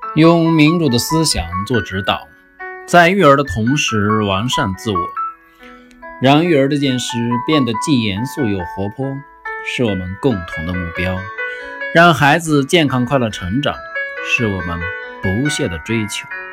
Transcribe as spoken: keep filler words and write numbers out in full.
用民主的思想做指导，在育儿的同时完善自我，让育儿这件事变得既严肃又活泼，是我们共同的目标。让孩子健康快乐成长，是我们不懈的追求。